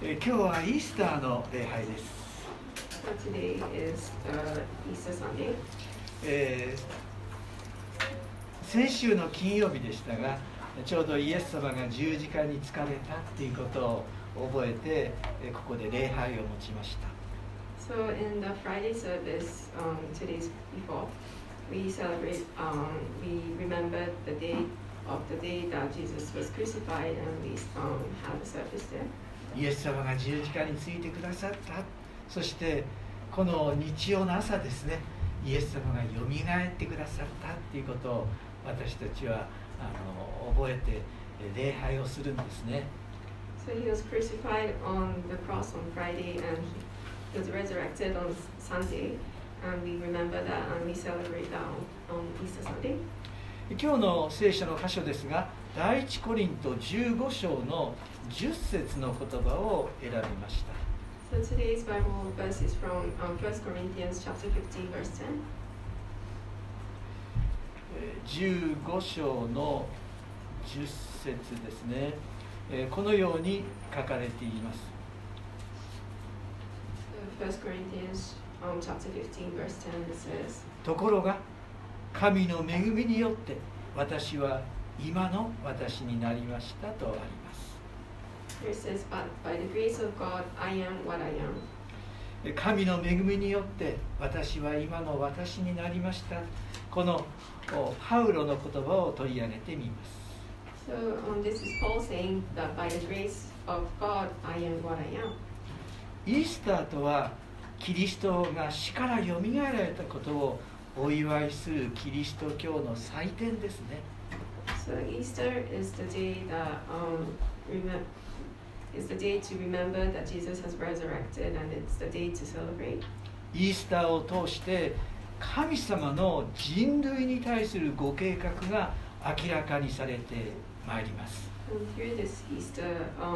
今日はイースターの礼拝です。 So today is Easter Sunday. 先週の金曜日でしたが、ちょうどイエス様が十字架につかれたということを覚えて、ここで礼拝を持ちました。 So in the Friday service, 2 days before, we celebrate, we remember the day that Jesus was crucified, and we had a service there. イエス様が十字架についてくださった。そしてこの日曜の朝ですね、イエス様がよみがえってくださったということを私たちは覚えて礼拝をするんですね。 So he was crucified on the cross on Friday, and he was resurrected on Sunday, and we remember that, and we celebrate that on Easter Sunday. 今日の聖書の箇所ですが、第一コリント15章の10節の言葉を選びました。 So today's Bible verse is from 1 Corinthians chapter 15, verse 10. 15章の10節ですね。このように書かれています。 1 Corinthians chapter 15, verse 10 says, ところが神の恵みによって私は今の私になりましたとあります。 Here it says, But by the grace of God, I am what I am. 神の恵みによって私は今の私になりました。このパウロの言葉を取り上げてみます。 So this is Paul saying that by the grace of God, I am what I am. イースターとはキリストが死からよみがえられたことをお祝いするキリスト教の祭典ですね。 So Easter is the day that is the day to remember that Jesus has resurrected, and it's the day to celebrate. イースターを通して神様の人類に対するご計画が明らかにされてまいります。 And through this Easter,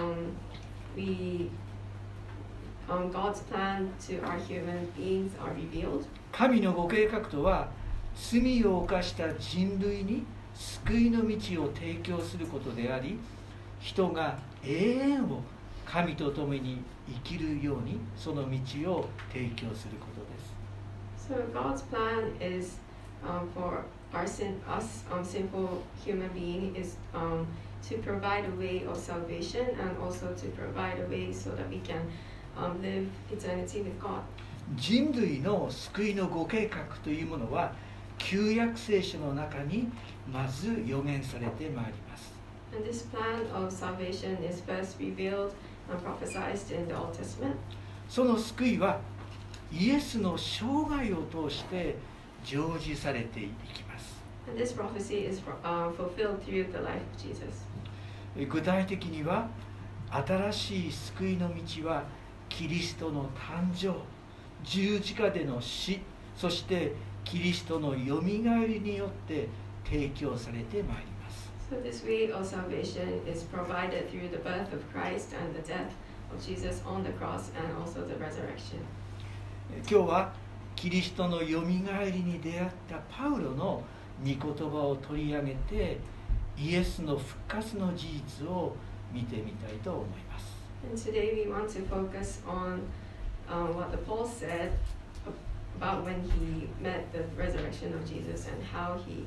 God's plan to our human beings are revealed. 神のご計画とは罪を犯した人類に救いの道を提供することであり、人が永遠を神と共に生きるようにその道を提供することです。 So God's plan is for us simple human being is to provide a way of salvation, and also to provide a way so that we can live eternity with God. 人類の救いのご計画というものは旧約聖書の中にまず予言されてまいります。 And this plan of salvation is first revealed and prophesied in the Old Testament. その救いはイエスの生涯を通して成就されていきます。 And this prophecy is fulfilled through the life of Jesus. 具体的には新しい救いの道はキリストの誕生、十字架での死、そしてキリストのよみがえりによって提供されてまいります。 So this way of salvation is provided through the birth of Christ and the death of Jesus on the cross, and also the resurrection. 今日はキリストのよみがえりに出会ったパウロの御言葉を取り上げて、イエスの復活の事実を見てみたいと思います。 And today we want to focus on what the Paul said about when he met the resurrection of Jesus, and how he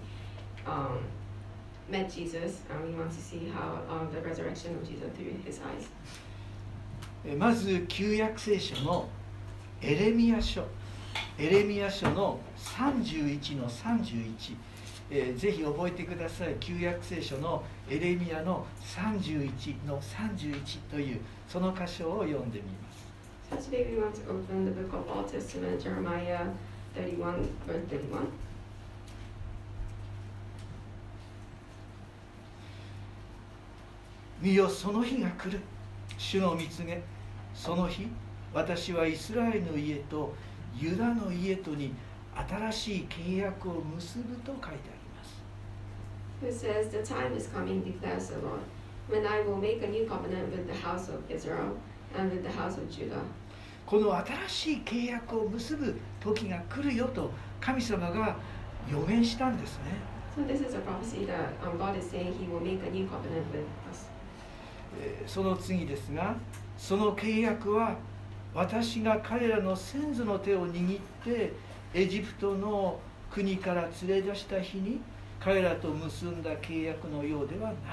met Jesus, and we want to see how the resurrection of Jesus through his eyes. まず旧約聖書のエレミヤ書の31の31、ぜひ覚えてください。旧約聖書のエレミヤの31の31というその箇所を読んでみます。 So today we want to open the book of Old Testament, Jeremiah 31, verse 31. 見よ、その日が来る。主の御告げ。その日、私はイスラエルの家とユダの家とに新しい契約を結ぶと書いてあります。 It says, The time is coming, declares the Lord, when I will make a new covenant with the house of Israel and with the house of Judah. この新しい契約を結ぶ時が来るよと神様が予言したんですね。 So this is a prophecy that God is saying He will make a new covenant with us. その次ですが、 その契約は私が彼らの先祖の手を握ってエジプトの国から連れ出した日に彼らと結んだ契約のようではない。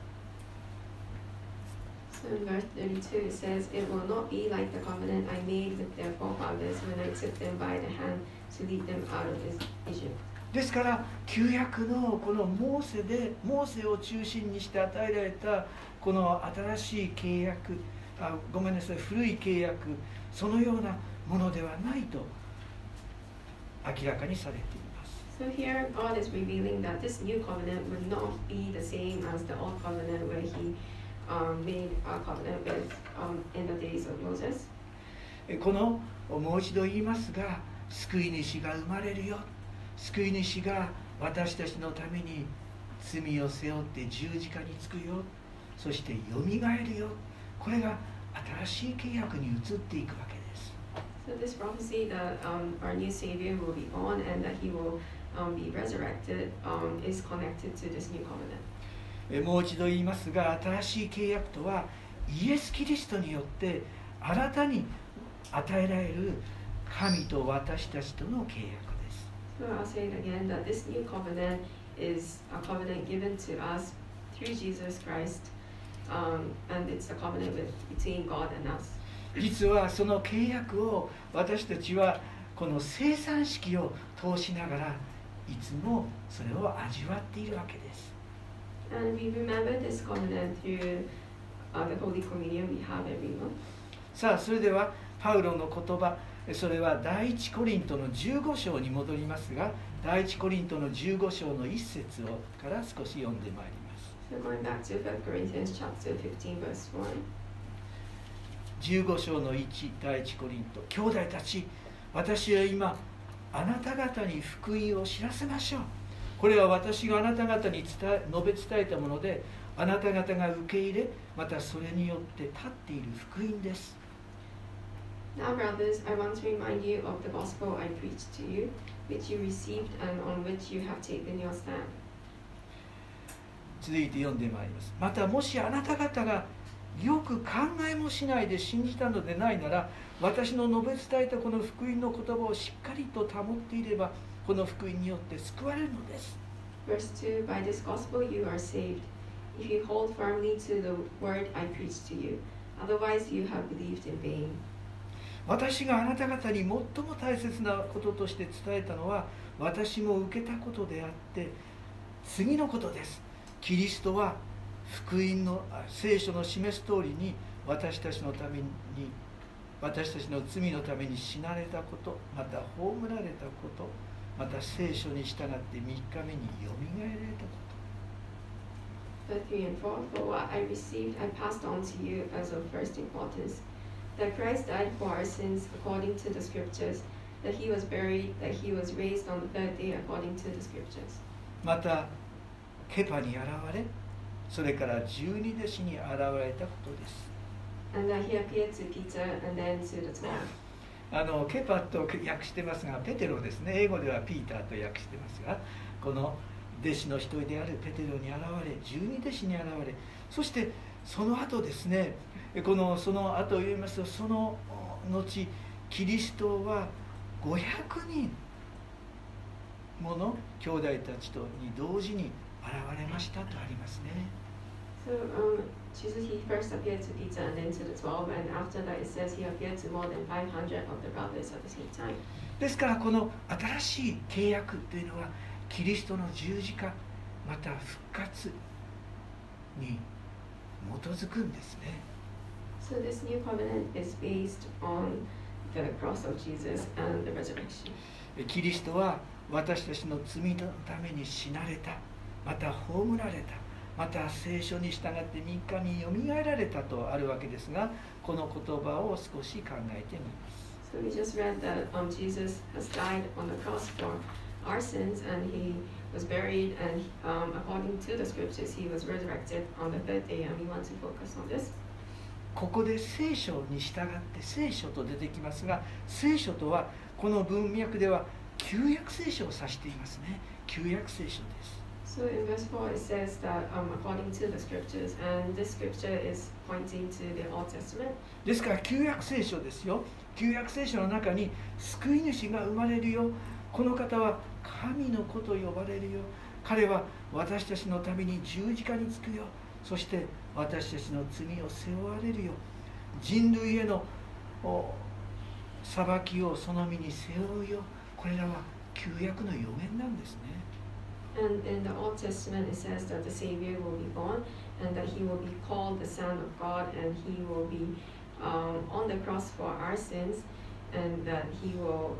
So in verse 32 it says, "It will not be like the covenant I made with their forefathers when I took them by the hand to lead them out of Egypt." ですから旧約のこのモーセを中心にして与えられたこの新しい契約、ごめんなさい、古い契約、そのようなものではないと明らかにされています。 So here God is revealing that this new covenant would not be the same as the old covenant where He made a covenant with in the days of Moses. このもう一度言いますが、救い主が生まれるよ、救い主が私たちのために罪を背負って十字架につくよ、そしてよみがえるよ、これが新しい契約に移っていくわけです。 So this prophecy that our new Savior will be born and that He will be resurrected is connected to this new covenant. もう一度言いますが、新しい契約とはイエス・キリストによって新たに与えられる神と私たちとの契約です。 So I'll say it again that this new covenant is a covenant given to us through Jesus Christ, and it's a covenant between God and us. 実はその契約を私たちはこの生産式を通しながらいつもそれを味わっているわけです。 And we remember this covenant through the Holy Communion we have every month. さあ、それではパウロの言葉、それは第一コリントの15章に戻りますが、第一コリントの15章の1節から少し読んでまいります。 So going back to 1 Corinthians chapter 15 verse 1. 15章の1、第一コリント、兄弟たち、私は今あなた方に福音を知らせましょう。これは私があなた方に述べ伝えたもので、あなた方が受け入れ、またそれによって立っている福音です。 Now, brothers, I want to remind you of the gospel I preached to you, which you received and on which you have taken your stand. 続いて読んでまいります。またもしあなた方がよく考えもしないで信じたのでないなら、私の述べ伝えたこの福音の言葉をしっかりと保っていれば、この福音によって救われるのです。 Verse 2, By this gospel you are saved, if you hold firmly to the word I preached to you. Otherwise you have believed in vain. 私があなた方に最も大切なこととして伝えたのは、私も受けたことであって、次のことです。キリストは福音の聖書の示す通りに私たちのために、私たちの罪のために死なれたこと、また葬られたこと、また聖書に従って3日目によみがえられたこと。 Verse 3 and 4, For what I received I passed on to you as of first importance, that Christ died for our sins according to the scriptures, that he was buried, that he was raised on the third day according to the scriptures. またケパに現れ、それから12弟子に現れたことです。 And that he appeared to Peter and then to the 12. ケパと訳してますが、ペテロですね。英語ではピーターと訳してますが、この弟子の一人であるペテロに現れ、12弟子に現れ、そしてその後ですね、その後を言いますと、その後キリストは500人もの兄弟たちとに同時に現れましたとありますね。 So Jesus, he first appeared to Peter and then to the 12, and after that it says he appeared to more than 500 of the brothers at the same time. ですからこの新しい契約というのはキリストの十字架また復活に基づくんですね。 So this new covenant is based on the cross of Jesus and the resurrection. キリストは私たちの罪のために死なれた、また葬られた、また聖書に従って3日によみがえられたとあるわけですが、この言葉を少し考えてみます。 So we just read that Jesus has died on the cross for our sins, and he was buried, and according to the scriptures, he was resurrected on the third day, and we want to focus on this. ここで聖書に従って聖書と出てきますが、聖書とはこの文脈では旧約聖書を指していますね。旧約聖書です。 So in verse 4 it says that according to the scriptures, and this scripture is pointing to the Old Testament. ですから旧約聖書ですよ。旧約聖書の中に救い主が生まれるよ。この方は神の子と呼ばれるよ。彼は私たちのために十字架につくよ。そして私たちの罪を背負われるよ。人類への裁きをその身に背負うよ。これらは旧約の予言なんですね。 And in the Old Testament it says that the Savior will be born and that he will be called the Son of God, and he will be on the cross for our sins, and that he will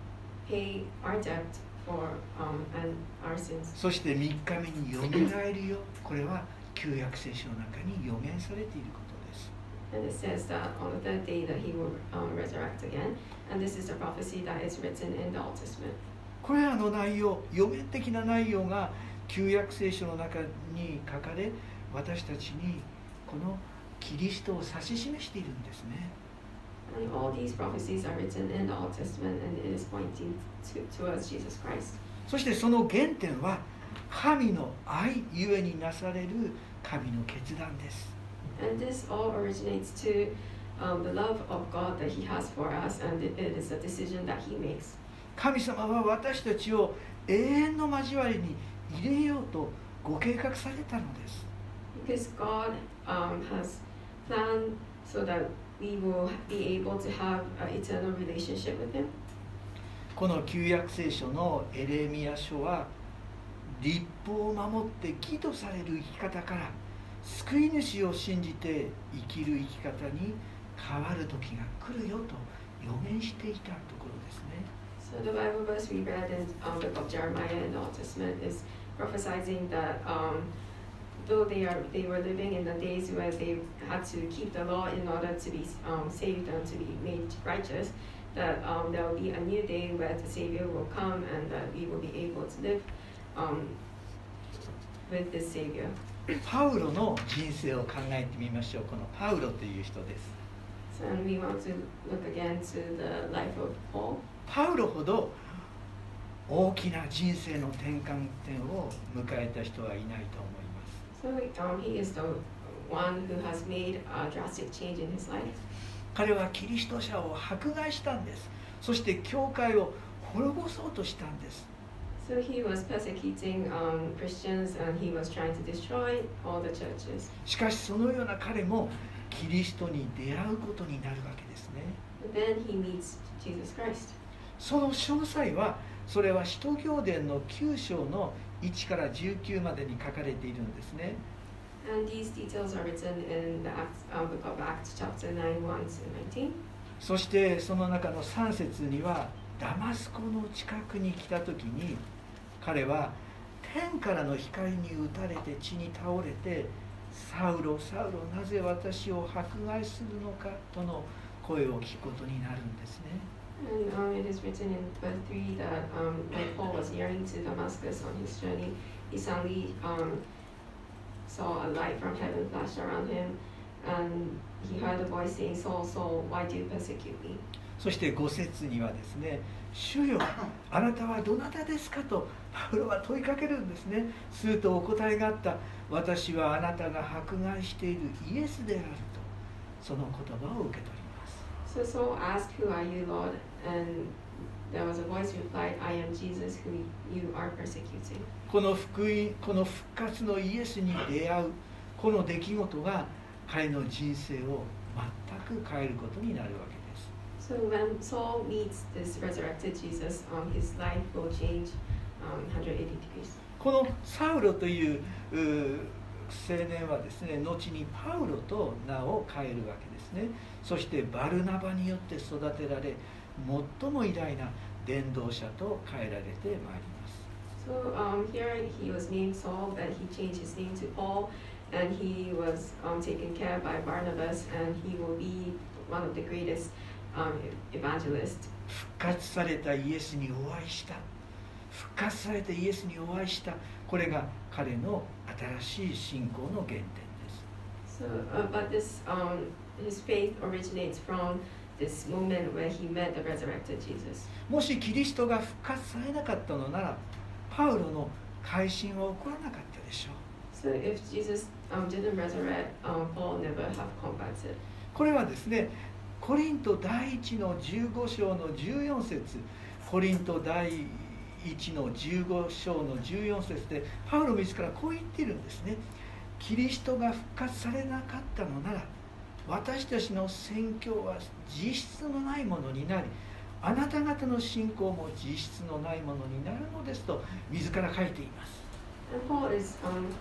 pay our debt for and our sins. そして3日目によみがえるよ。これは旧約聖書の中に予言されていることです。 And it says that on the third day that he will resurrect again, and this is a prophecy that is written in the Old Testament. これらの内容、予言的な内容が旧約聖書の中に書かれ、私たちにこのキリストを指し示しているんですね。 And all these prophecies are written in the Old Testament, and it is pointing towards Jesus Christ. そしてその原点は神の愛ゆえになされる神の決断です。 And this all originates to the love of God that He has for us, and it is a decision that He makes. 神様は私たちを永遠の交わりに入れようとご計画されたのです。 Because God has planned so that we will be able to have an eternal relationship with Him. この旧約聖書のエレミヤ書は律法を守って義とされる生き方から救い主を信じて生きる生き方に変わる時が来るよと予言していたところですね。 So the Bible verse we read in the book of Jeremiah in the Old Testament is prophesying that though they were living in the days where they had to keep the law in order to be saved and to be made righteous, that there will be a new day where the Savior will come and that we will be able to live with this Savior. パウロの人生を考えてみましょう。このパウロという人です。 So, and we want to look again to the life of Paul. パウロほど大きな人生の転換点を迎えた人はいないと思います。 So he is the one who has made a drastic change in his life. 彼はキリスト者を迫害したんです。そして教会を滅ぼそうとしたんです。 So he was persecuting Christians and he was trying to destroy all the churches. しかしそのような彼もキリストに出会うことになるわけですね。 And then he meets Jesus Christ. その詳細はそれは使徒行伝の9章の1から19までに書かれているんですね。 And these details are written in the book of Acts, chapter 9, 1 to 19. そしてその中の3節にはダマスコの近くに来た時に彼は天からの光に打たれて地に倒れてサウロ、サウロ、なぜ私を迫害するのかとの声を聞くことになるんですね。 And it is written in verse 3 that when Paul was nearing to Damascus on his journey, he suddenly saw a light from heaven flash around him, and he heard a voice saying, Saul, Saul, why do you persecute me? そして5節にはですね、主よ、あなたはどなたですかとパウロは問いかけるんですね。するとお答えがあった。私はあなたが迫害しているイエスであると、その言葉を受け取ります。 So Saul asked, Who are you, Lord? And there was a voice replied, I am Jesus who you are persecuting. この福音、この復活のイエスに出会うこの出来事が彼の人生を全く変えることになるわけです。 So when Saul meets this resurrected Jesus, his life will change 180 degrees. このサウロという青年はですね、後にパウロと名を変えるわけですね。そしてバルナバによって育てられ、最も偉大な伝道者と変えられてまいります。 So here he was named Saul, but he changed his name to Paul, and he was taken care of by Barnabas, and he will be one of the greatest evangelists. 復活されたイエスにお会いした。復活されたイエスにお会いした。これが彼の新しい信仰の原点です。 So, but this his faith originates from this moment where he met the resurrected Jesus. もしキリストが復活されなかったのなら、パウロの改心は起こらなかったでしょう。 So if Jesus didn't resurrect, Paul never have converted. これはですね、コリント第1の15章の14節、コリント第1の15章の14節でパウロ自らこう言っているんですね。キリストが復活されなかったのなら、私たちの宣教は実質のないものになり、あなた方の信仰も実質のないものになるのですと自ら書いています。 And Paul is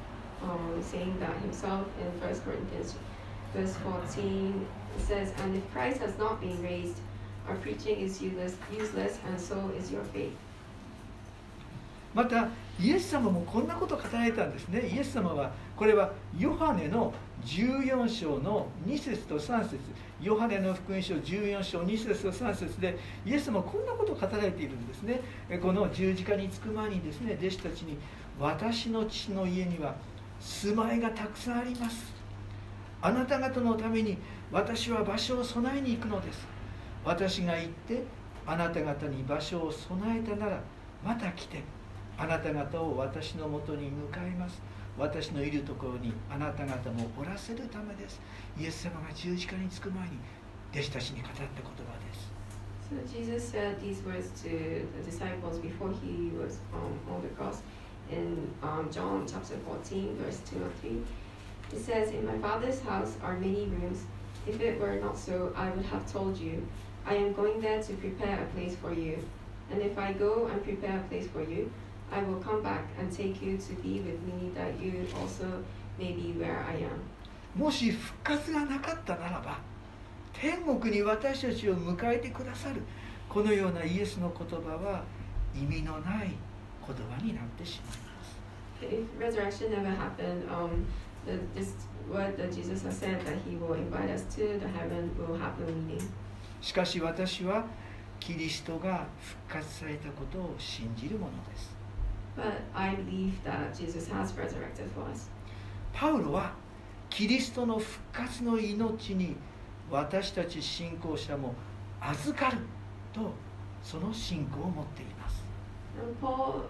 saying that himself in 1 Corinthians verse 14. It says, "And if Christ has not been raised, our preaching is useless, and so is your faith." またイエス様もこんなことを語られたんですね。イエス様はこれはヨハネの14章の2節と3節、ヨハネの福音書14章2節と3節でイエス様はこんなことを語られているんですね。この十字架につく前にですね、弟子たちに、私の父の家には住まいがたくさんあります。あなた方のために私は場所を備えに行くのです。私が行ってあなた方に場所を備えたなら、また来てあなた方を私のもとに迎えます。私のいるところにあなた方もおらせるためです。イエス様が十字架につく前に弟子たちに語った言葉です。 So Jesus said these words to the disciples before he was on the cross in John chapter 14 verse 2 and 3. It says, "In my Father's house are many rooms. If it were not so, I would have told you. I am going there to prepare a place for you. And if I go and prepare a place for you, I will come back and take you to be with me, that you also may be where I am." もし復活がなかったならば、天国に私たちを迎えてくださるこのようなイエスの言葉は意味のない言葉になってしまいます。 If resurrection never happened, this word that Jesus has said that he will invite us to the heaven will have no meaning. しかし私はキリストが復活されたことを信じるものです。 But I believe that Jesus has resurrected for us. パウロはキリストの復活の命に私たち信仰者も預かるとその信仰を持っています。 And Paul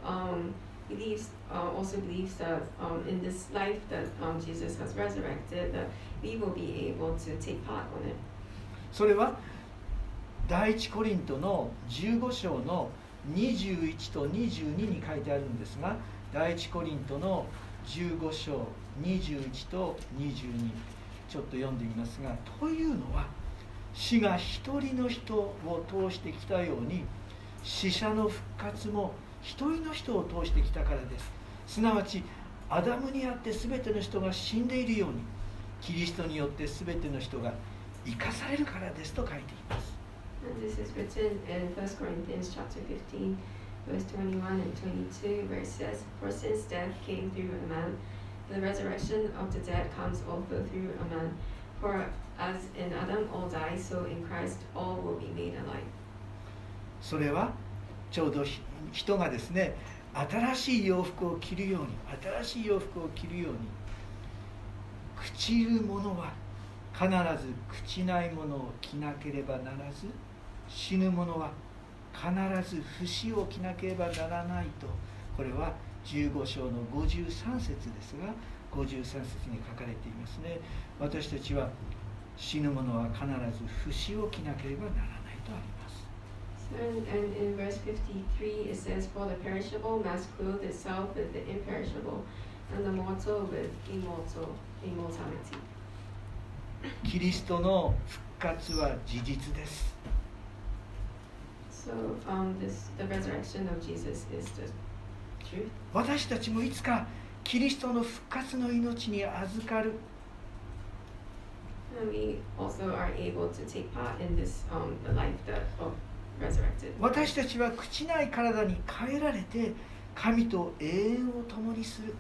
also believes that in this life that Jesus has resurrected, that we will be able to take part on it. それは第一コリントの15章の21と22に書いてあるんですが、第一コリントの15章21と22ちょっと読んでみますが、というのは死が一人の人を通してきたように死者の復活も一人の人を通してきたからです。すなわちアダムにあって全ての人が死んでいるように、キリストによって全ての人が生かされるからですと書いています。 And this is written in 1 Corinthians chapter 15, verse 21 and 22, where it says, "For since death came through a man, the resurrection of the dead comes also through a man. For as in Adam all die, so in Christ all will be made alive." それはちょうど人がですね、新しい洋服を着るように、新しい洋服を着るように、朽ちるものは必ず朽ちないものを着なければならず、死ぬものは必ず不死を着なければならないと、これは15章の53節ですが、53節に書かれていますね。私たちは死ぬものは必ず不死を着なければならないとあります。 And in verse 53 it says, "For the perishable must clothe itself with the imperishable, and the mortal with immortality." キリストの復活は事実です。 So the resurrection of Jesus is the truth. 私たちもいつかキリストの復活の命に預かる。 And we also are able to take part in this the life of resurrected. 私たちは朽ちない体に変えられて神と永遠を共にする。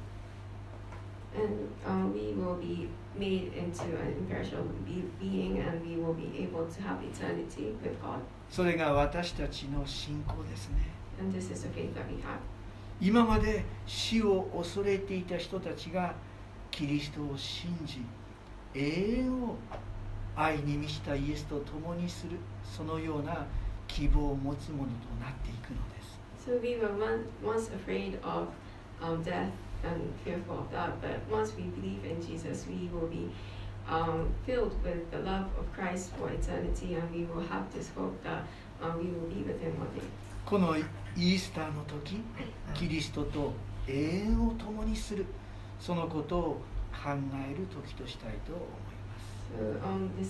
And we will be made into an imperishable being, and we will be able to have eternity with God. それが私たちの信仰ですね。 And this is the faith that we have. 今まで死を恐れていた人たちがキリストを信じ、永遠を愛に満ちたイエスと共にする、そのような希望を持つものとなっていくのです。 So we were once afraid of death and fearful of that. But once we believe in Jesus, we will be filled with the love of Christ for eternity, and we will have this hope that we will be with Him one day. このイースターの時、キリストと永遠を共にする、そのことを考える時としたいと思います。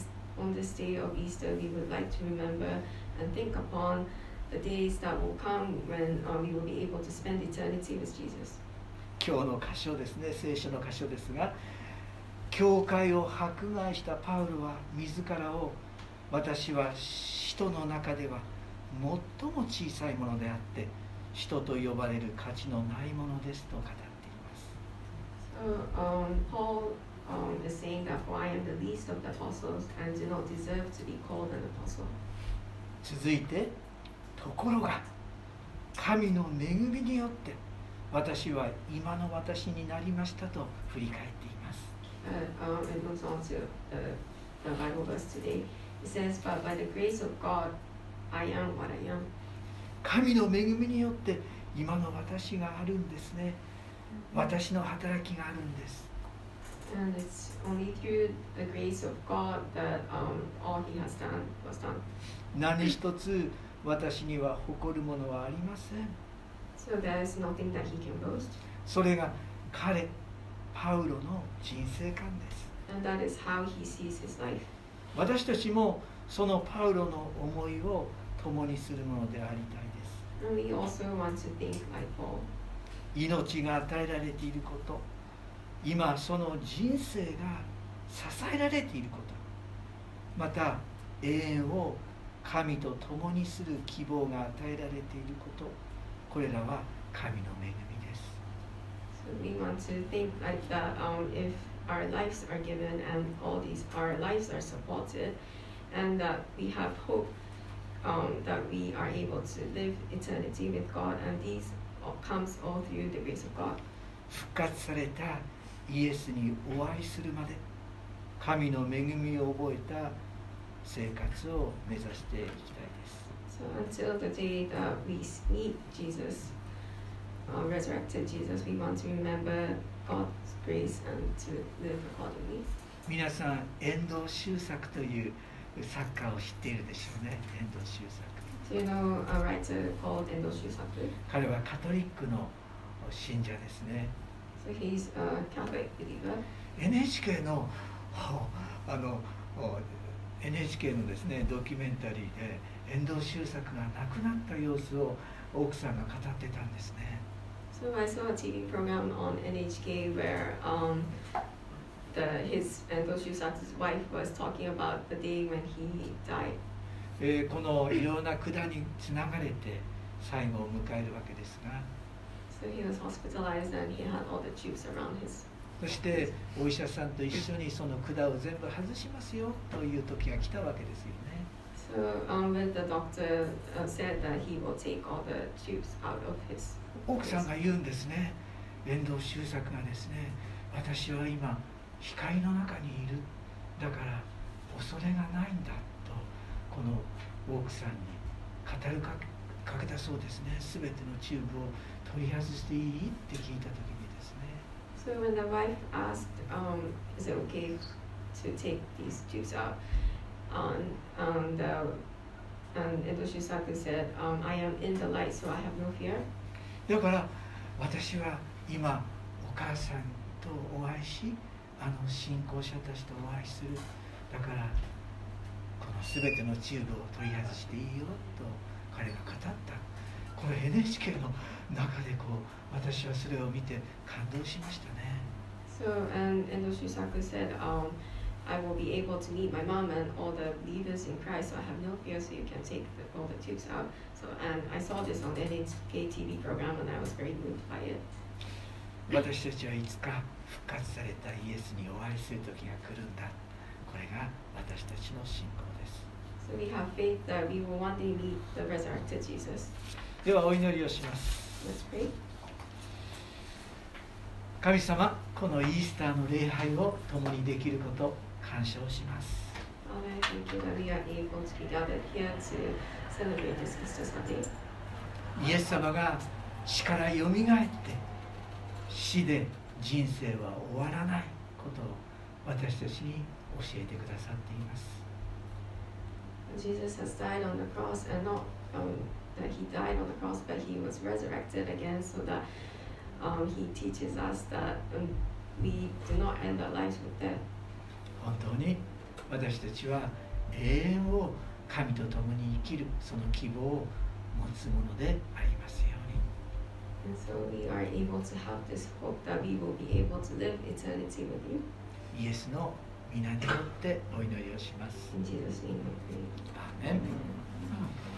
So on this day of Easter, we would like to remember and think upon the days that will come when we will be able to spend eternity with Jesus. 今日の箇所ですね、聖書の箇所ですが、教会を迫害したパウロは自らを、私は使徒の中では最も小さいものであって使徒と呼ばれる価値のないものですと語っています。 So Paul is saying that for I am the least of the apostles and do not deserve to be called an apostle. 続いて、ところが神の恵みによって私は今の私になりましたと振り返っています。 It moves on to the Bible verse today. It says, "But by the grace of God, I am what I am." 神の恵みによって今の私があるんですね。私の働きがあるんです。 And it's only through the grace of God that all He has done was done. 何一つ私には誇るものはありません。 So there is nothing that He can boast. それが彼、パウロの人生観です。 And that is how he sees his life. 私たちもそのパウロの思いを共にするものでありたいです。 And we also want to think like Paul. 命が与えられていること、今その人生が支えられていること、また永遠を神と共にする希望が与えられていること、これらは神の恵みです。 So we want to think like that. If our lives are given and all these our lives are supported, and that we have hope, that we are able to live eternity with God, and these comes all through the grace of God. 復活されたイエスにお会いするまで神の恵みを覚えた生活を目指していきたいです。 So until the day that we meet Jesus, resurrected Jesus, we want to remember God's grace and to live accordingly. 皆さん、遠藤周作という作家を知っているでしょうね。遠藤周作。 Do you know a writer called Endo Shusaku? 彼はカトリックの信者ですね。 So he's a Catholic believer. NHK のNHK のですね、ドキュメンタリーで遠藤周作が亡くなった様子を奥さんが語ってたんですね。 So I saw a TV program on NHK where his Endo Shusaku's wife was talking about the day when he died. このいろんな管につながれて最後を迎えるわけですが、 So he was hospitalized and he had all the tubes around his. そしてお医者さんと一緒にその管を全部外しますよという時が来たわけですよね。 So when the doctor said that he will take all the tubes out of his. 奥さんが言うんですね。遠藤周作がですね、私は今光の中にいる。だから恐れがないんだとこの奥さんに語るかけたそうですね。すべてのチューブを取り外していいって聞いた時にですね。 So when the wife asked, is it okay to take these tubes out? And Endo Shusaku said, I am in the light, so I have no fear. だから私は今お母さんとお会いし、信仰者たちとお会いする。だからこのすべてのチューブを取り外していいよと彼が語った。この NHK の中で私はそれを見て感動しましたね。 So Endo Shusaku said, I will be able to meet my mom and all the believers in Christ, so I have no fear, so you can take all the tubes out. So and I saw this on the NHK TV program and I was very moved by it. 私たちはいつか復活されたイエスにお会いする時が来るんだ。これが私たちの信仰です。 So we have faith that we will one day meet the resurrected Jesus. ではお祈りをします。 Let's pray. 神様、このイースターの礼拝を共にできること感謝をします。 Father, thank you that we are able to be gathered here to celebrate this Easter Sunday. イエス様が死からよみがえって死で人生は終わらないことを私たちに教えてくださっています。 Jesus has died on the cross, and not that he died on the cross, but he was resurrected again, so that he teaches us that we do not end our lives with death. 本当に私たちは永遠を神と共に生きるその希望を持つものでありますように。 And so we are able to have this hope that we will be able to live eternity with you. イエスの皆によってお祈りをします。 In Jesus' name we pray. アーメン。